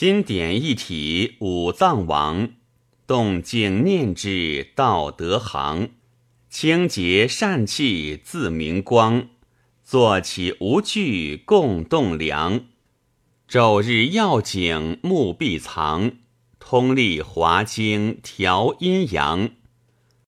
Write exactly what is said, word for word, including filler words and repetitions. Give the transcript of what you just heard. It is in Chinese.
心典一体五脏王，动静念之道德行。清洁善气自明光，坐起无惧共栋梁。昼日要景目必藏，通历华经调阴阳。